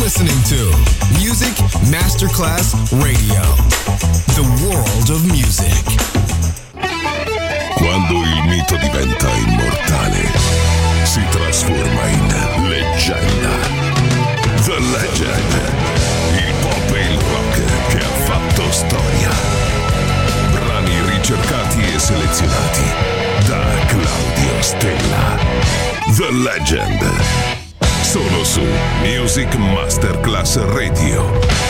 listening to Music Masterclass Radio, the world of music. Quando il mito diventa immortale, si trasforma in leggenda. The Legend, il pop e il rock che ha fatto storia. Brani ricercati e selezionati da Claudio Stella. The Legend, solo su Music Masterclass Radio.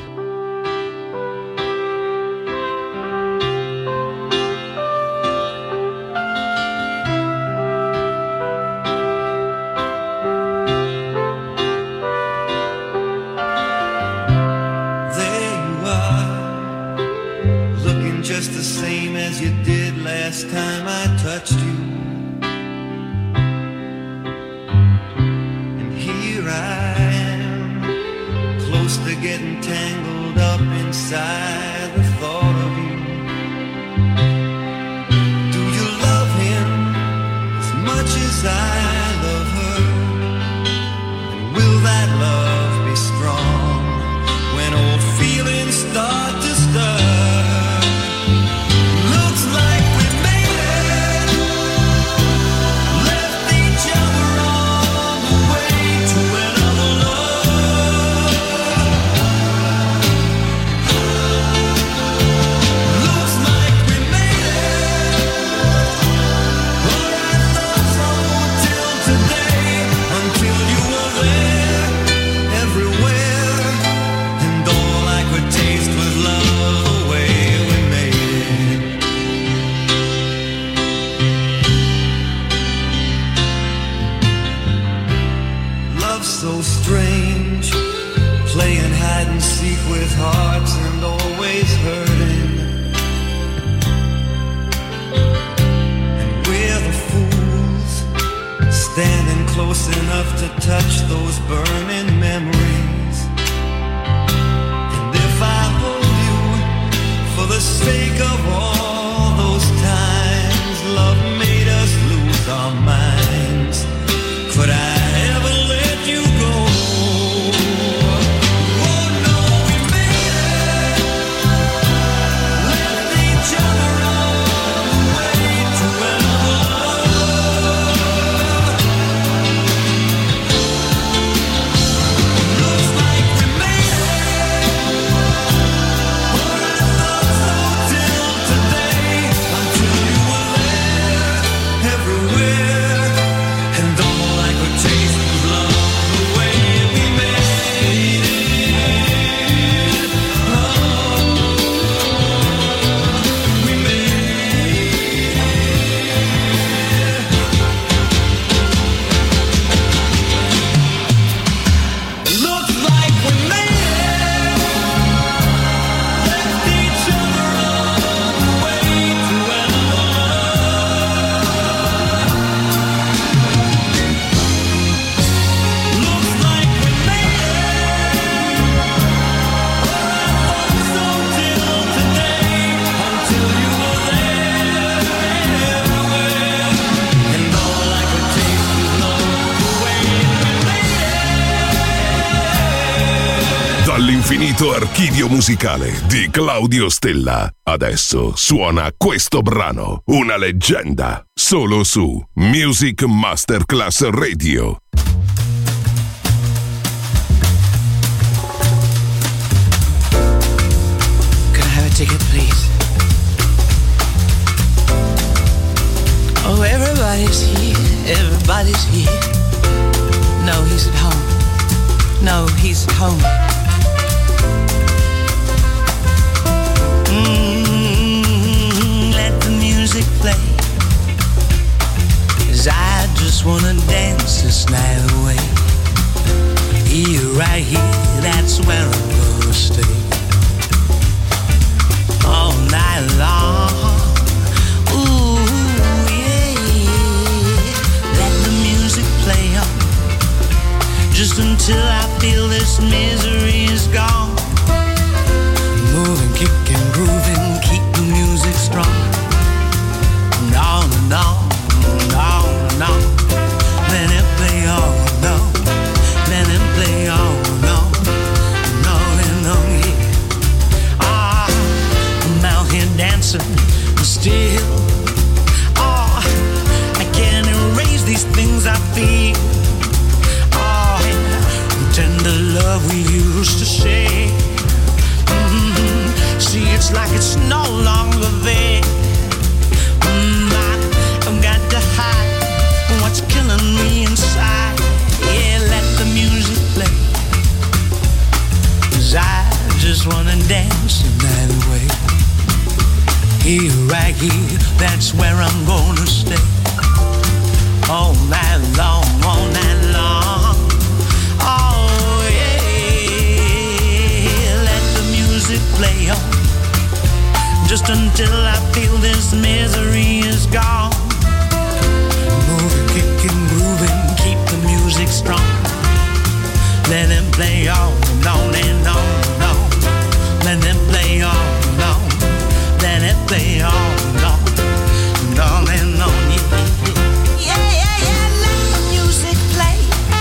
Dall'infinito archivio musicale di Claudio Stella, adesso suona questo brano, una leggenda, solo su Music Masterclass Radio. Can I have a ticket, please? Oh, everybody's here, everybody's here. No, he's at home. No, he's at home. Let the music play, 'cause I just wanna dance this night away. Here, right here, that's where I'm gonna stay. All night long, ooh, yeah. Let the music play on, just until I feel this misery is gone. Moving, kicking, grooving, keep the music strong. On and on, on and on. Let it play on, no. Let it play on, no. dancing that way. Here, right here, that's where I'm gonna stay. All night long, all night long. Oh yeah, let the music play on, just until I feel this misery is gone. Moving, kicking, grooving, keep the music strong. Let them play on and on and on and on. Let them play on and on. Let it play on and on and on and on. Yeah, yeah, yeah, let the music play.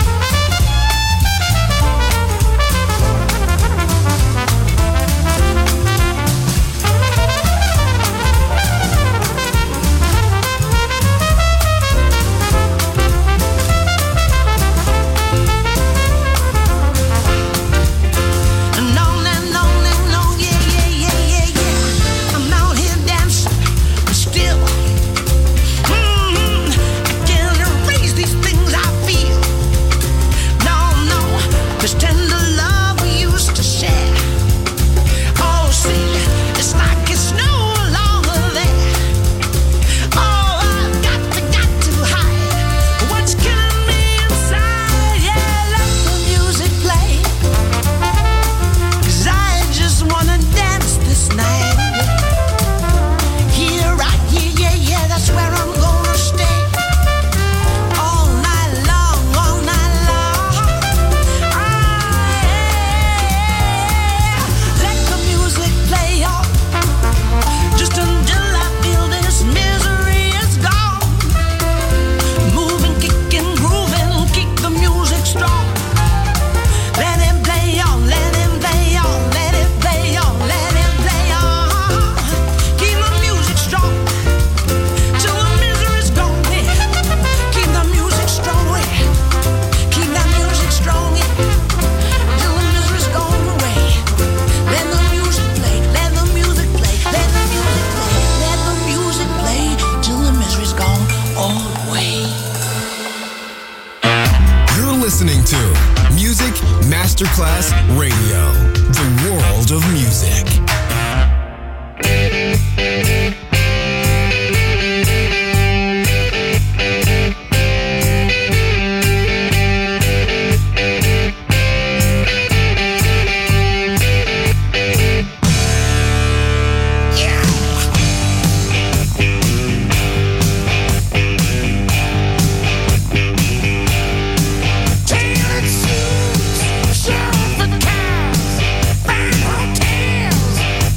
Masterclass Radio, the world of music. Show the cars, fine hotels.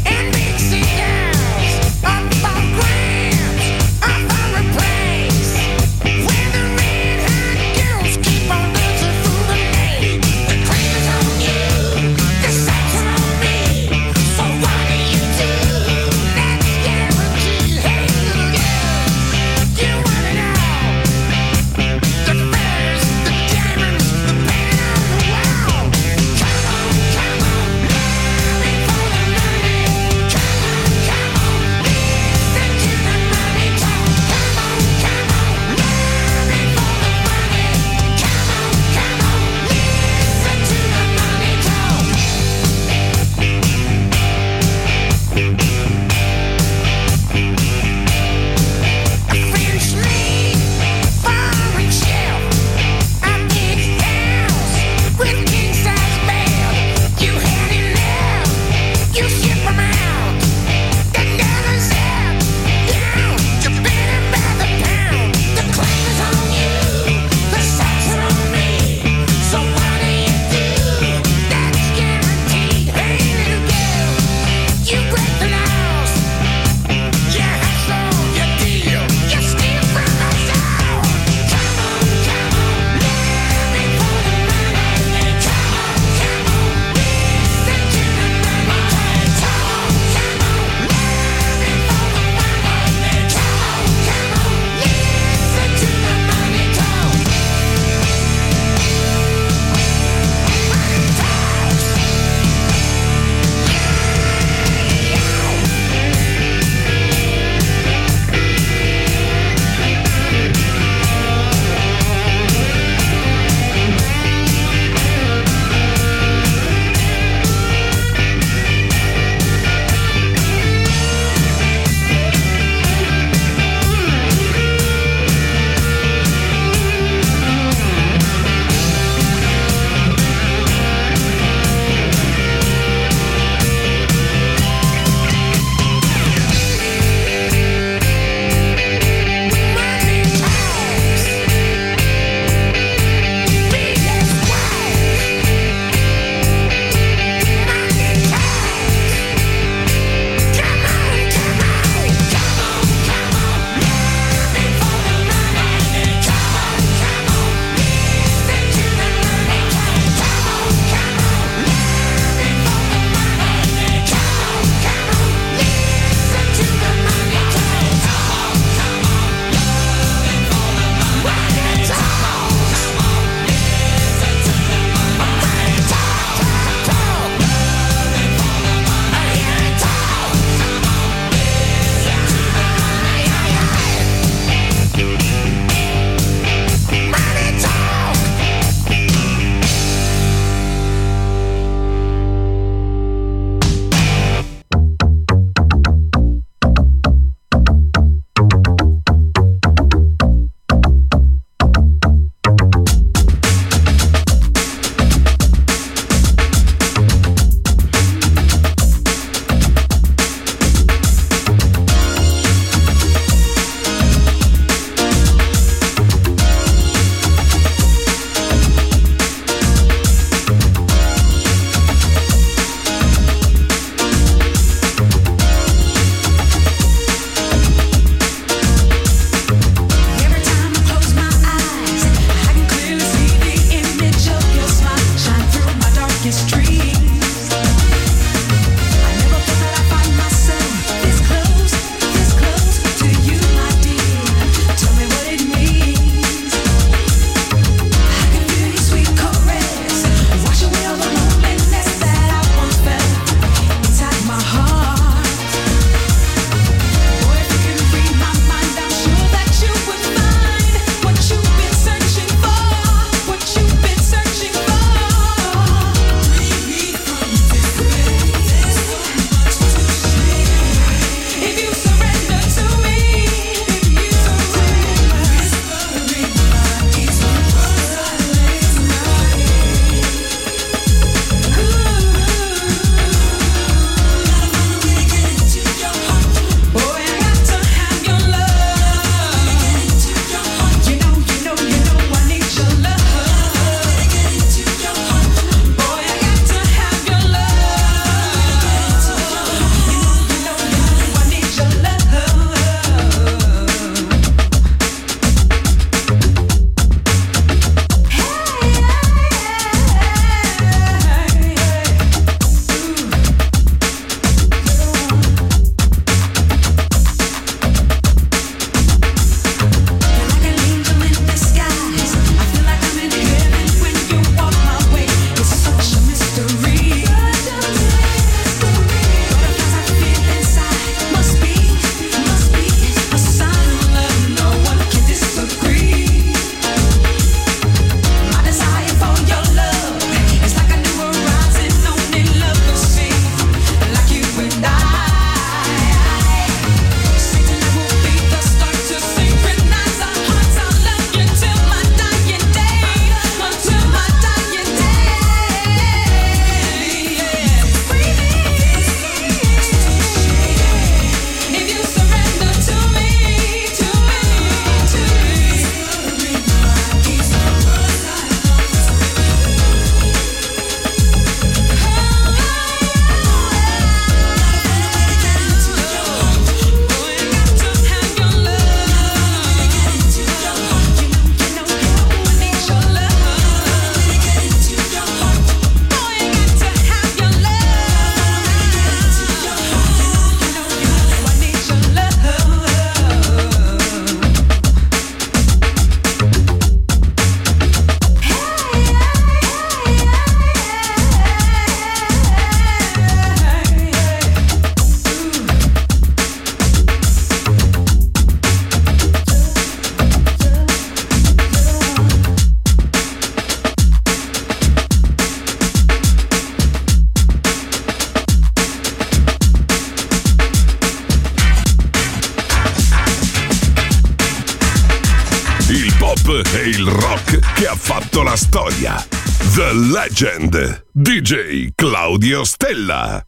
e il rock che ha fatto la storia. The Legend, DJ Claudio Stella.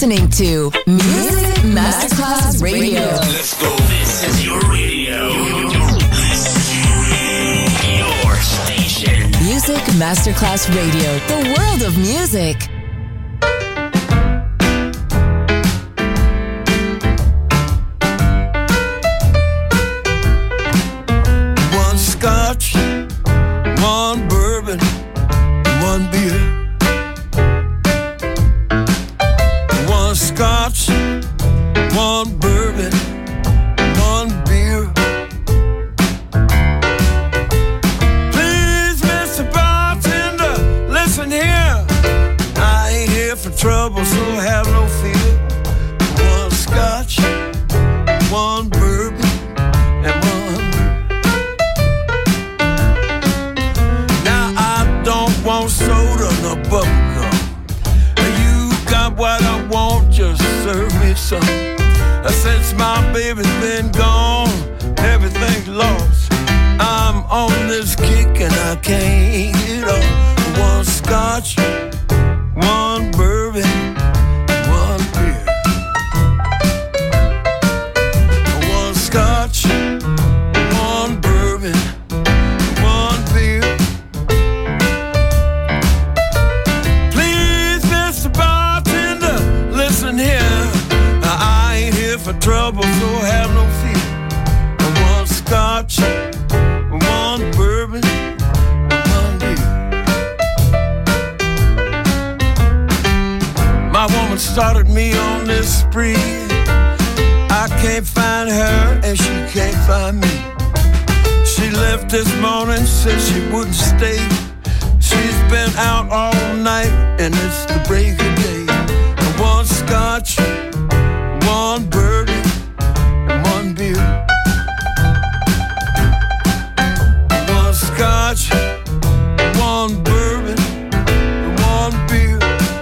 listening to Music Masterclass Radio. Let's go. This is your radio. Your station. Music Masterclass Radio. The world of music. One scotch, one bourbon, one beer. One scotch, one bourbon, one beer. Please, Mr. Bartender, listen here. I ain't here for trouble, so have no fear. One scotch, one bourbon, and one beer. Now I don't want soda nor bubblegum. You got what I want, just serve me some. Since my baby's been gone, everything's lost. I'm on this kick and I can't get off. One scotch, one bourbon, one beer. One scotch, one bourbon, one beer. Please, Mr. Bartender, listen here. I ain't here for trouble, so have no fear. One scotch, one bourbon, one beer. My woman started me on this spree. I can't find her and she can't find me. She left this morning, said she wouldn't stay. She's been out all night and it's the break of day. One scotch, one bourbon, and one beer. One scotch, one bourbon, and one beer.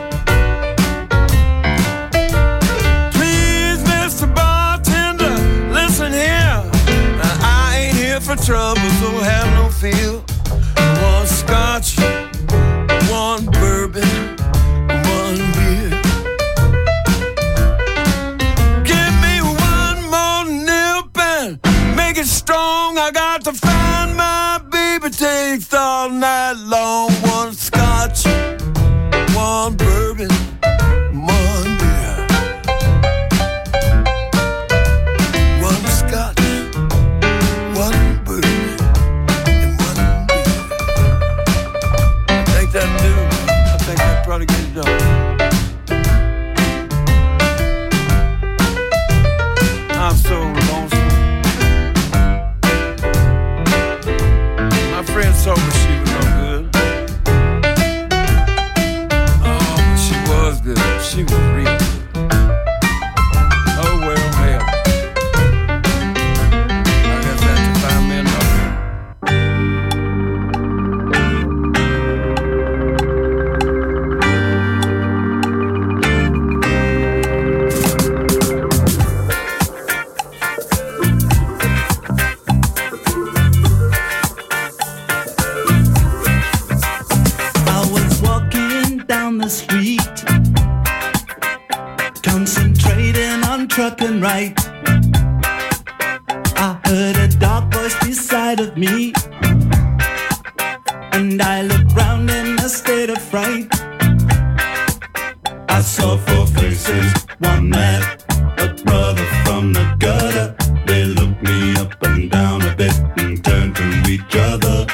Please, Mr. Bartender, listen here. I ain't here for trouble, so have no fear. One scotch, one bourbon, and one beer. Make it strong, I got to find my baby. Takes all night long. One scotch, one bourbon, one beer. One scotch, one bourbon, and one beer. I think that'll do. I think that probably get it done. I'm so lonesome. My friend told me she was no good. Oh, but she was good. She was real good. Oh, well, hell. I guess I have to find me another. I was walking down the street, concentrating on trucking right. I heard a dark voice beside of me, and I looked round in a state of fright. I saw four faces, one man, a brother from the gutter. They looked me up and down a bit and turned to each other.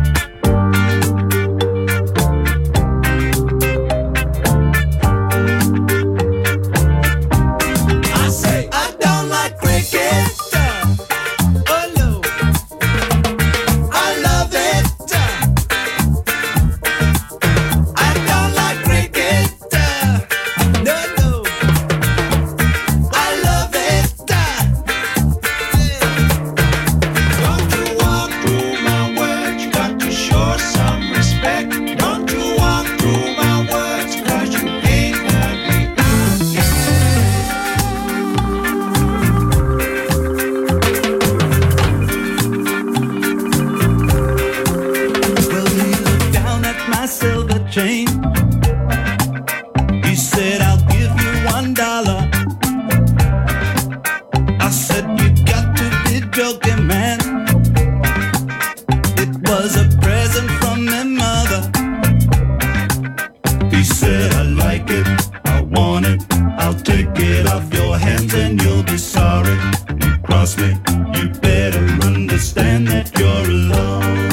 I say, I don't like cricket. Oh no, I love it. I don't like cricket. No, no, I love it. Don't you walk through my words, you got to show some respect. Don't you walk through my words, 'cause you ain't heard me. cross me, you better understand that you're alone.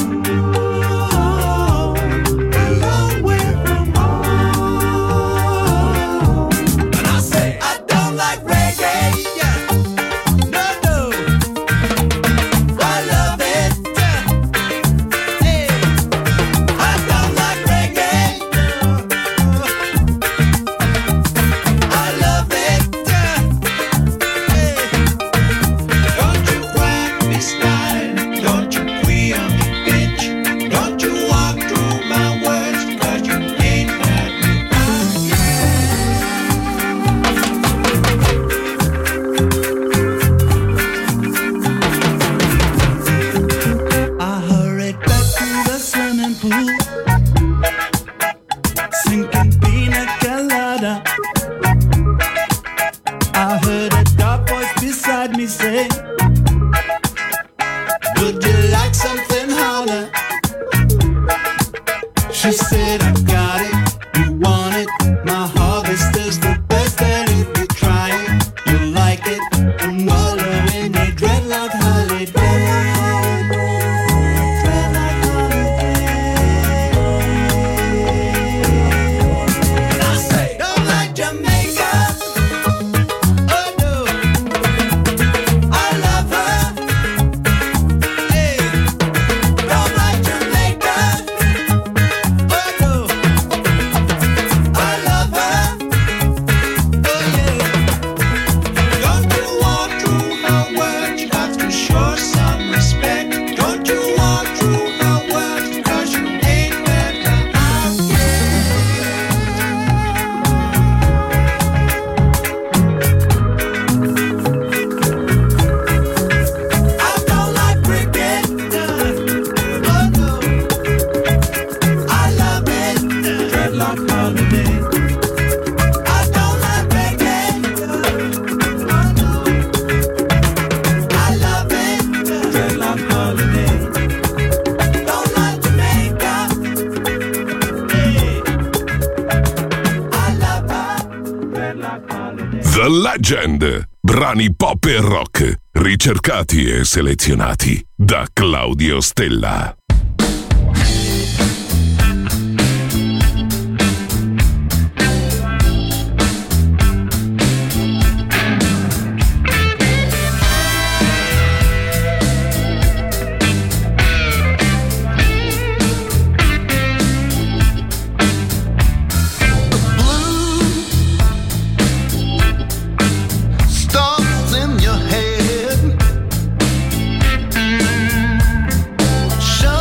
The Legend, brani pop e rock, ricercati e selezionati da Claudio Stella. Show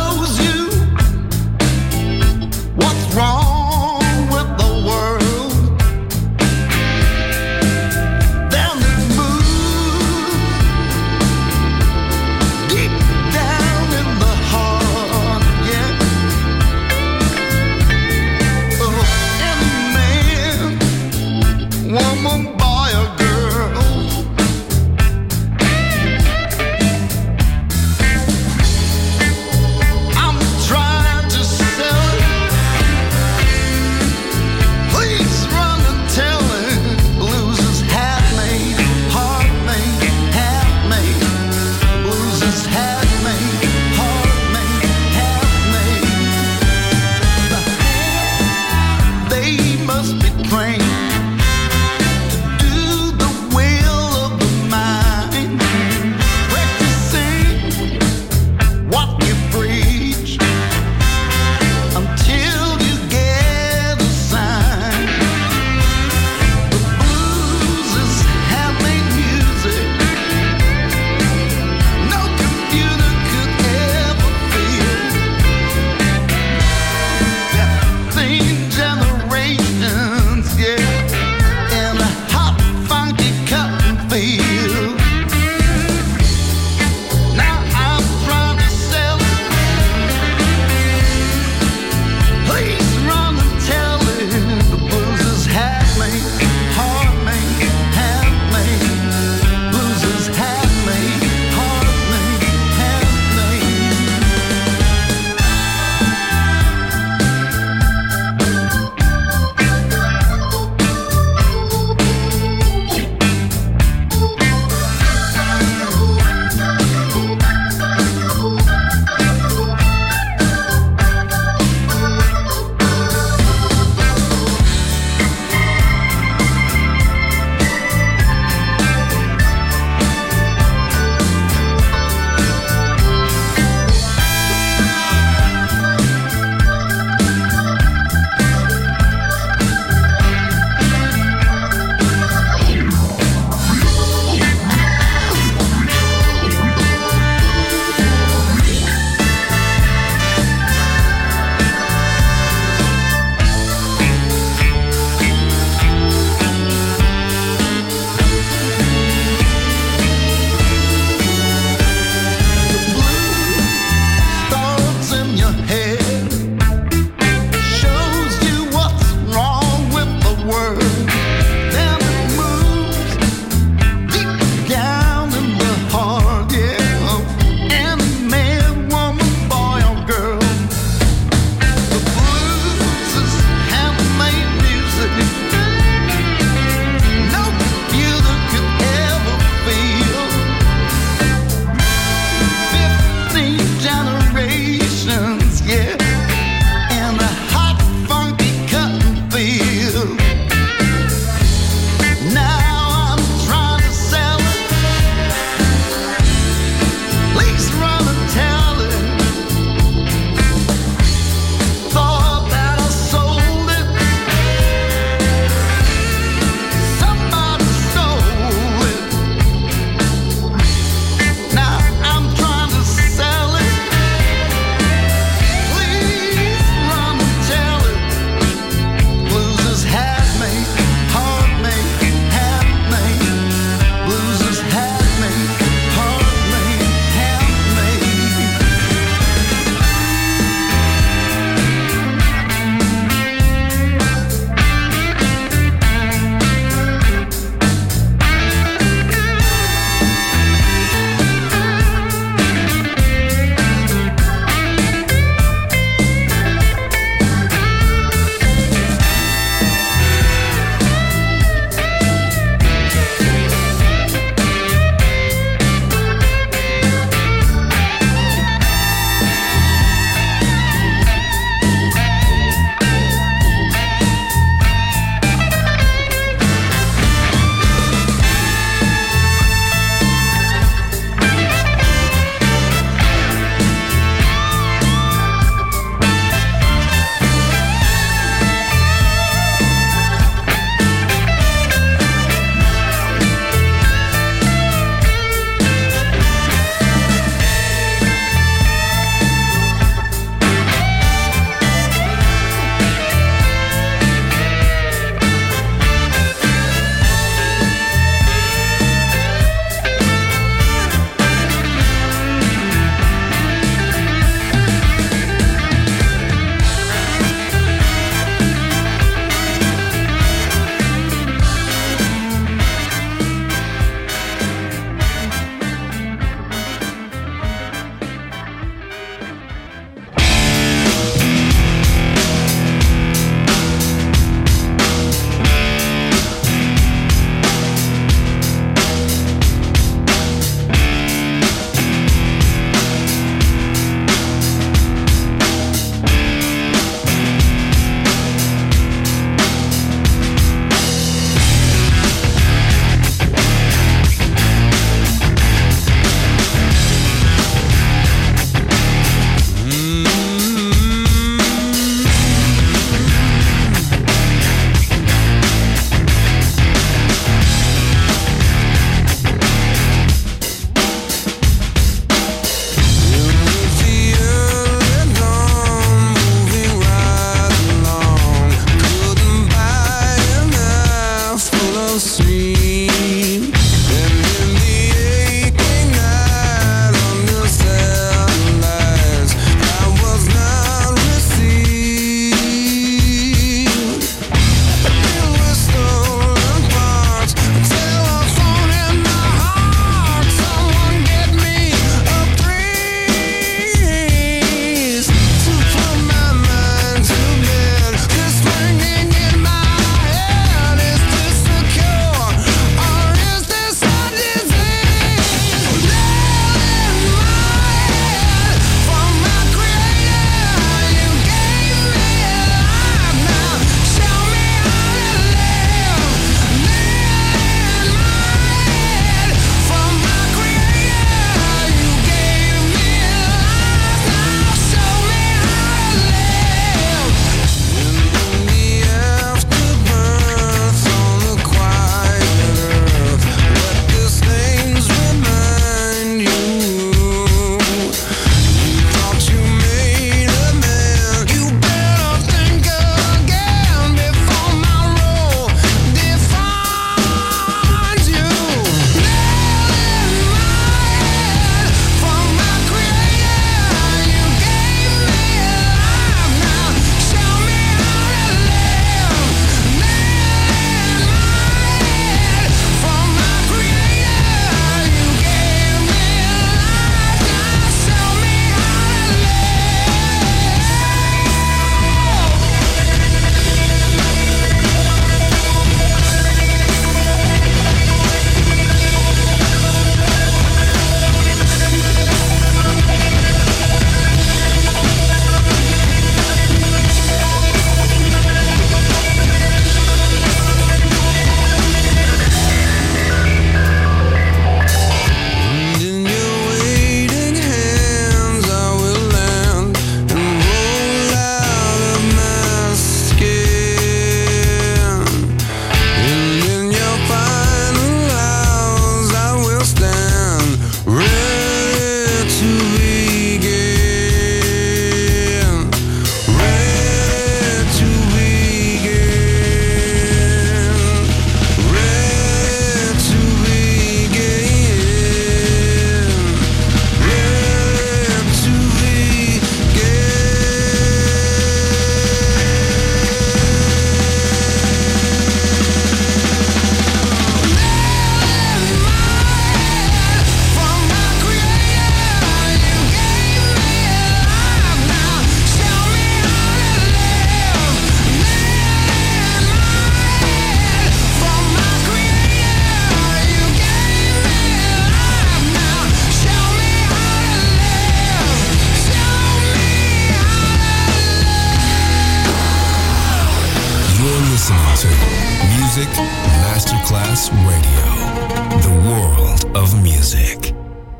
to Music Masterclass Radio, the world of music.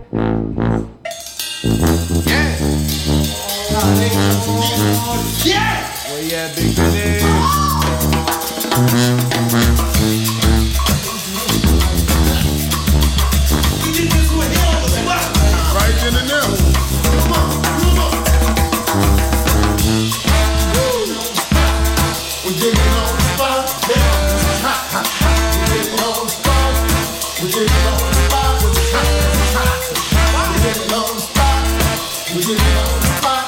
Yeah! Where you at, Big Daddy? Right in the middle. Come on, come on. We're getting on the spot. Ha, ha, ha. We're getting on the spot. We're getting on the spot. We're getting on the spot. We're getting on the spot.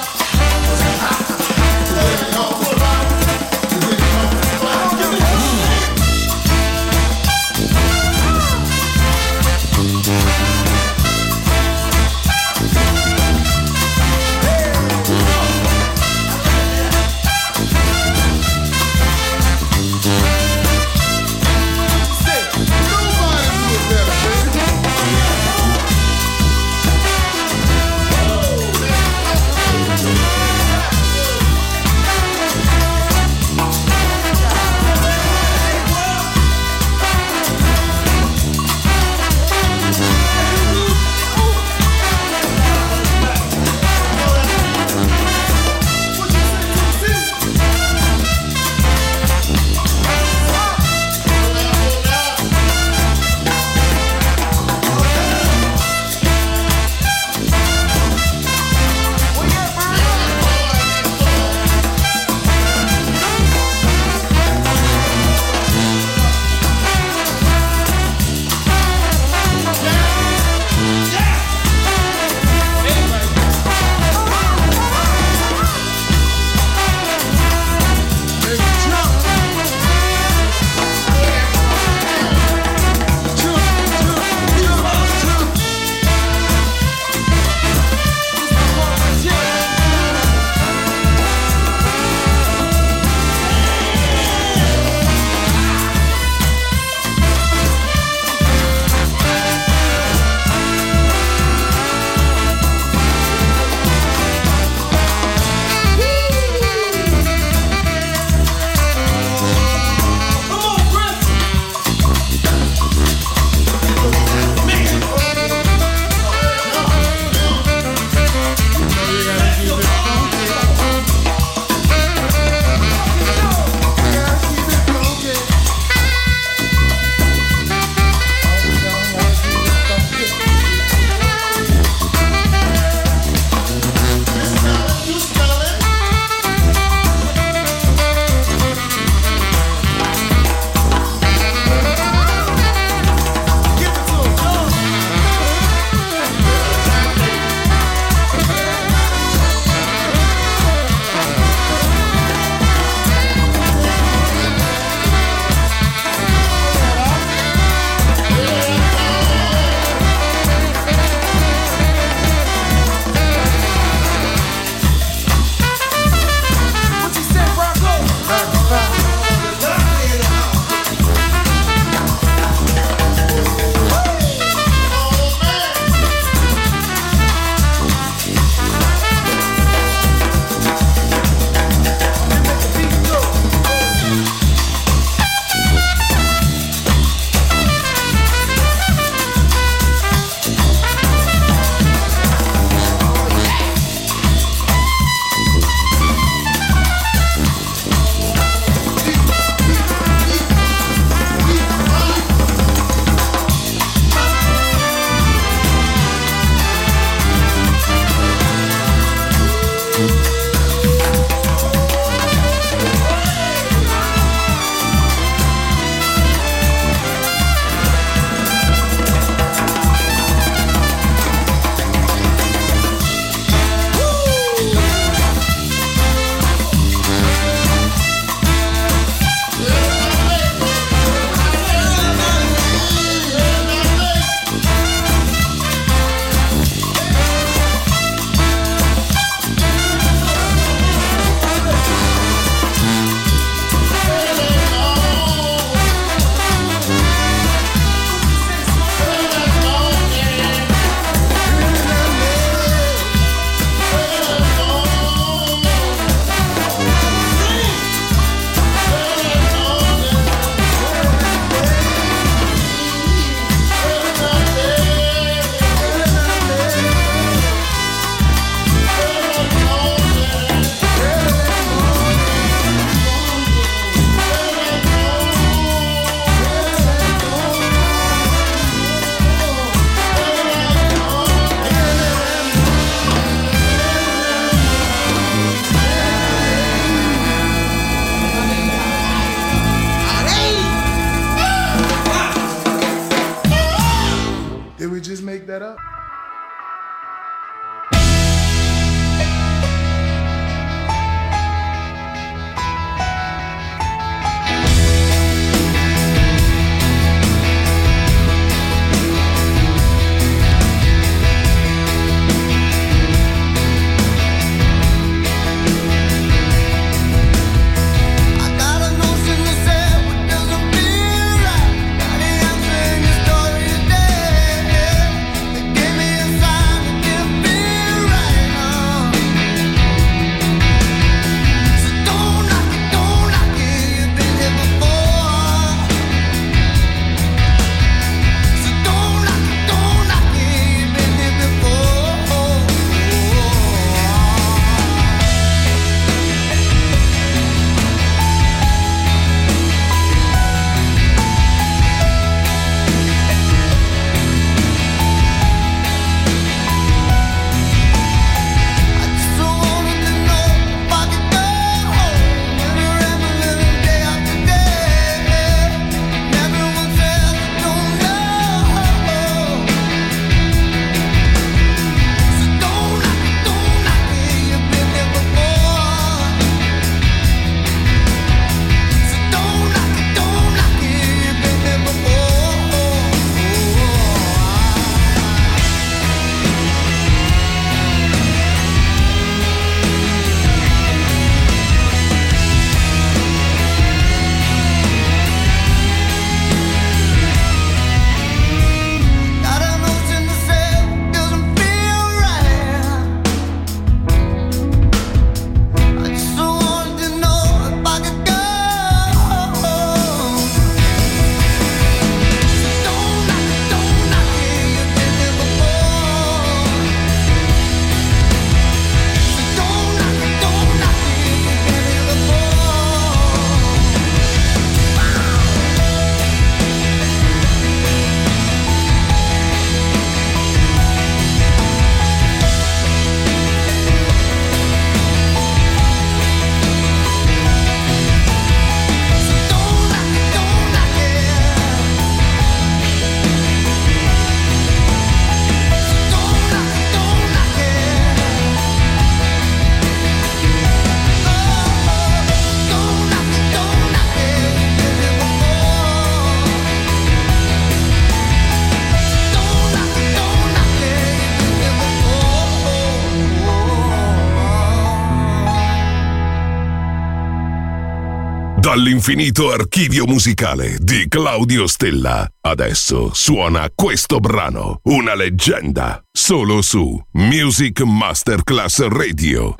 Dall'infinito archivio musicale di Claudio Stella. Adesso suona questo brano, una leggenda, solo su Music Masterclass Radio.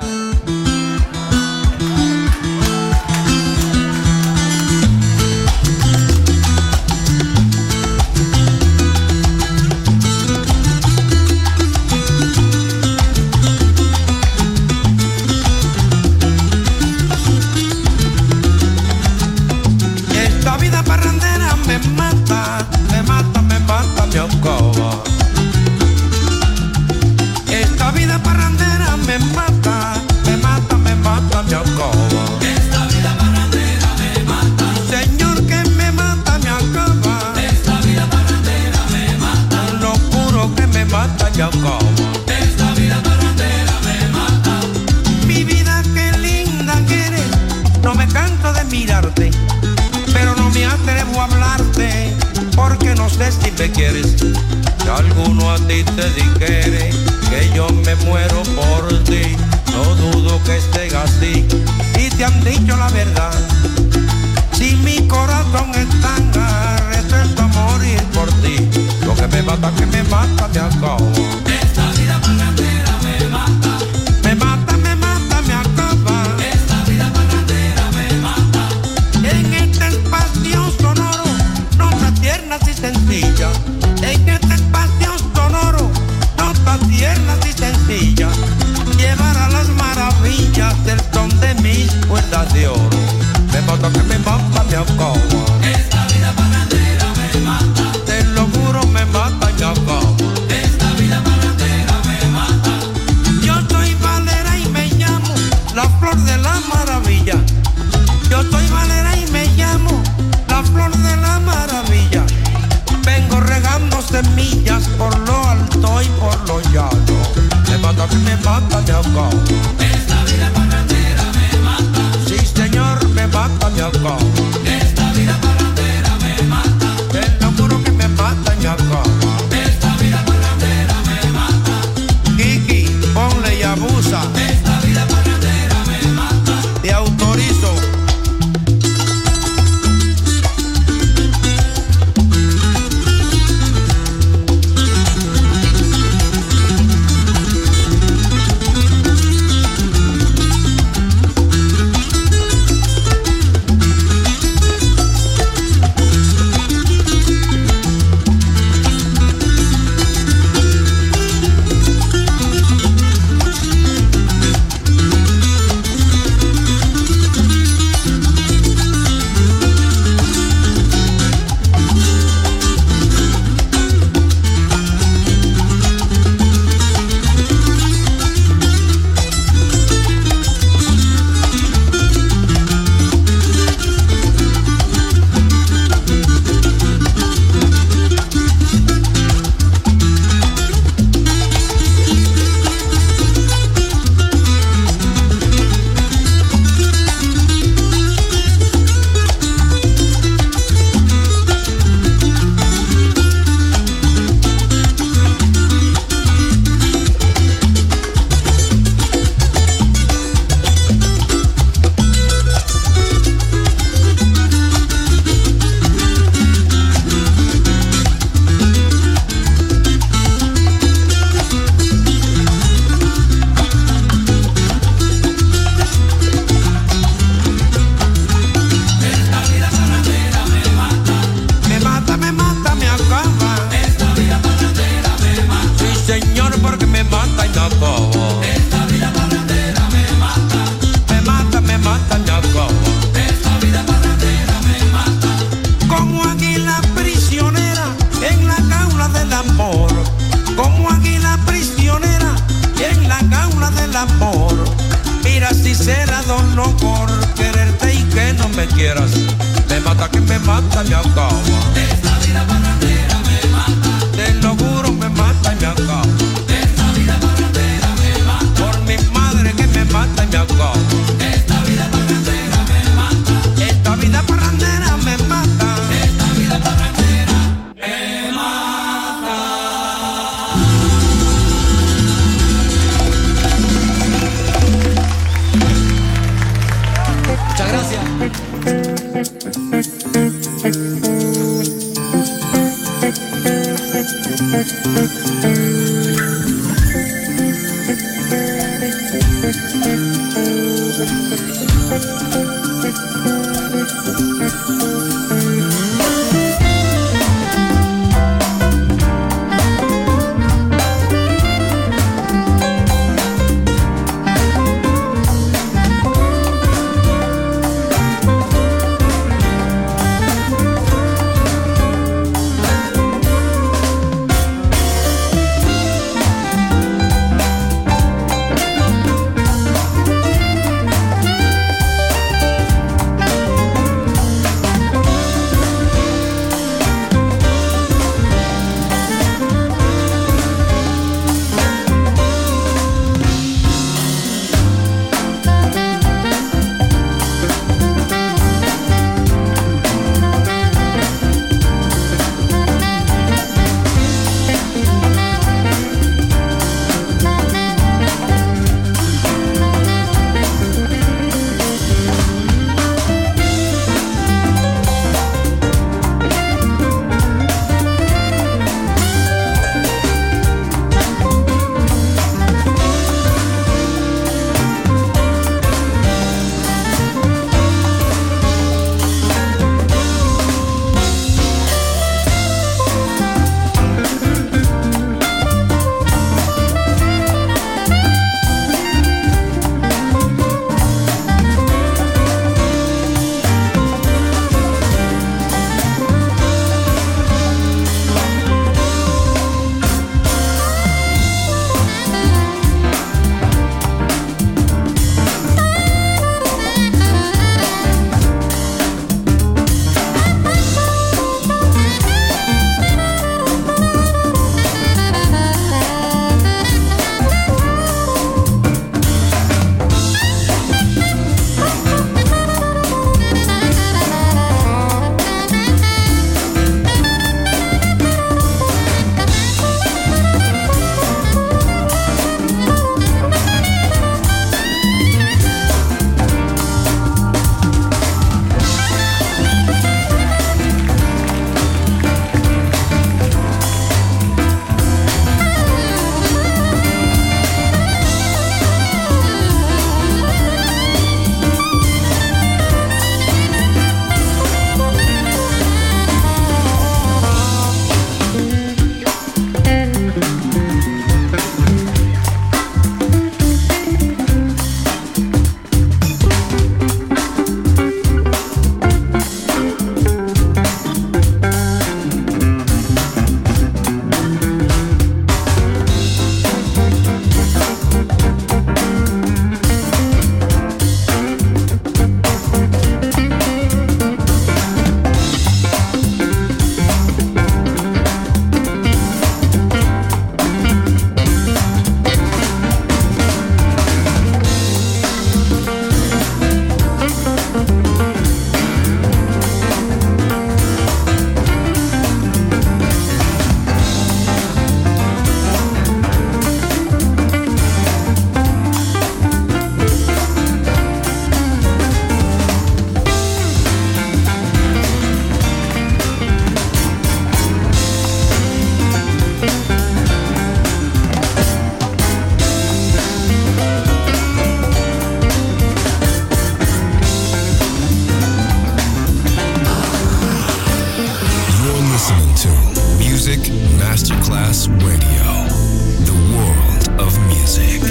Esta vida parrandera me mata, me mata, me mata, me acaba. Esta vida parrandera me mata. Señor, que me mata, me acaba. Esta vida parrandera me mata. Lo juro que me mata, me acaba. Esta vida parrandera me mata. Mi vida, qué linda que eres. No me canso de mirarte, pero no me atrevo a hablarte, porque no sé si me quieres. Si alguno a ti te dijere que yo me muero por ti, no dudo que estés así. Y te han dicho la verdad. Si mi corazón está resuelto a morir por ti, lo que me mata, me acabo. Esta vida parrandera me mata. Me mata, me mata, me acaba. Esta vida parrandera me mata. En este espacio sonoro, notas tiernas y sencillas. En este espacio sonoro, notas tiernas y sencillas. Llevará las maravillas del son de mis cuerdas de oro. Me mata, me acaba. Esta vida parrandera me mata. Te lo juro, me mata, me acaba. Esta vida parrandera me mata. Yo soy Valera y me llamo la flor de la maravilla. Yo soy Valera y me llamo la flor de la maravilla. Vengo regando semillas por lo alto y por lo llano. Me mata, me acabo. Esta vida parrandera me mata. Sí, señor, me mata, me acabo. Esta vida parrandera me mata. Te lo juro que me mata, me acabo. Esta vida parrandera me mata. Kiki, ponle y abusa. Esta vida parrandera me mata. Te autorizo. me acaba. Esta vida parrandera me mata. Te lo juro, me mata y me acaba. Esta vida parrandera me mata. Por mi madre que me mata y me acaba. Esta vida parrandera me mata. Esta vida parrandera me mata. Esta vida parrandera me mata. Muchas gracias. Masterclass Radio, the world of music.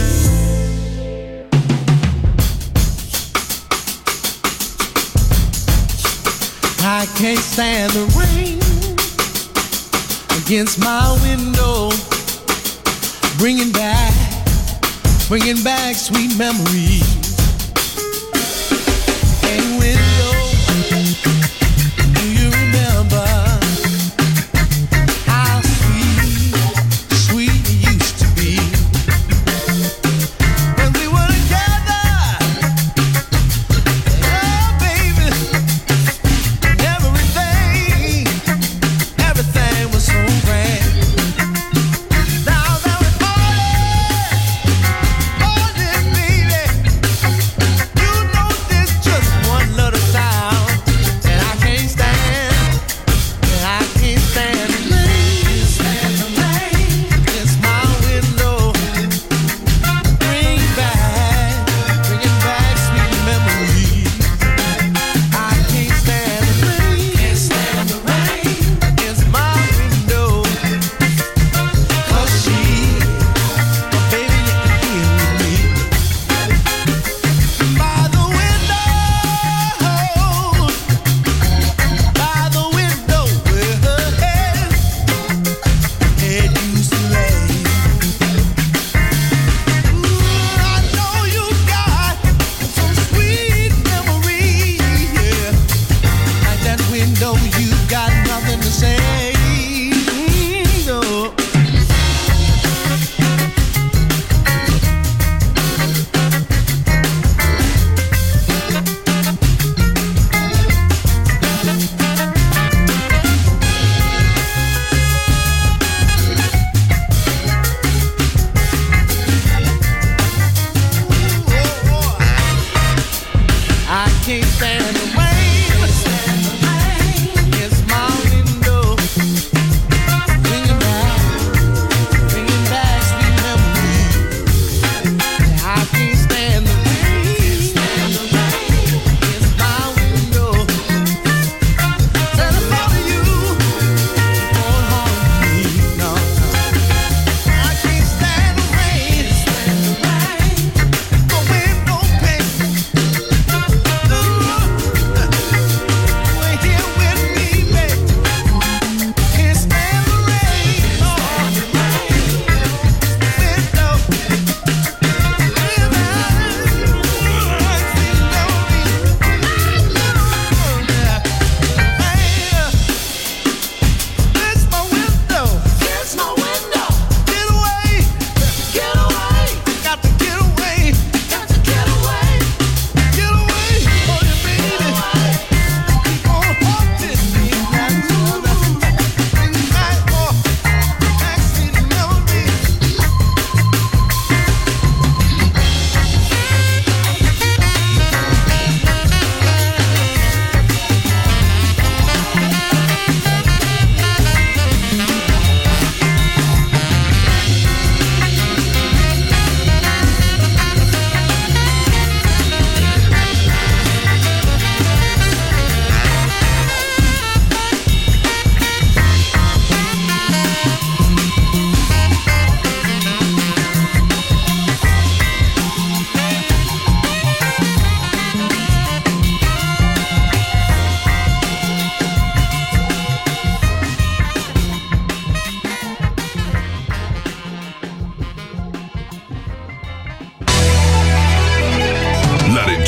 I can't stand the rain against my window, bringing back sweet memories. Hey window, do you remember how sweet it used to be when we were together? Oh baby, everything was so grand. Now that we're older, baby, you know there's just one little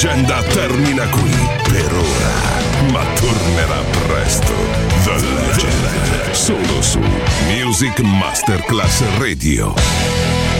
leggenda termina qui per ora, ma tornerà presto. The Legend, solo su Music Masterclass Radio.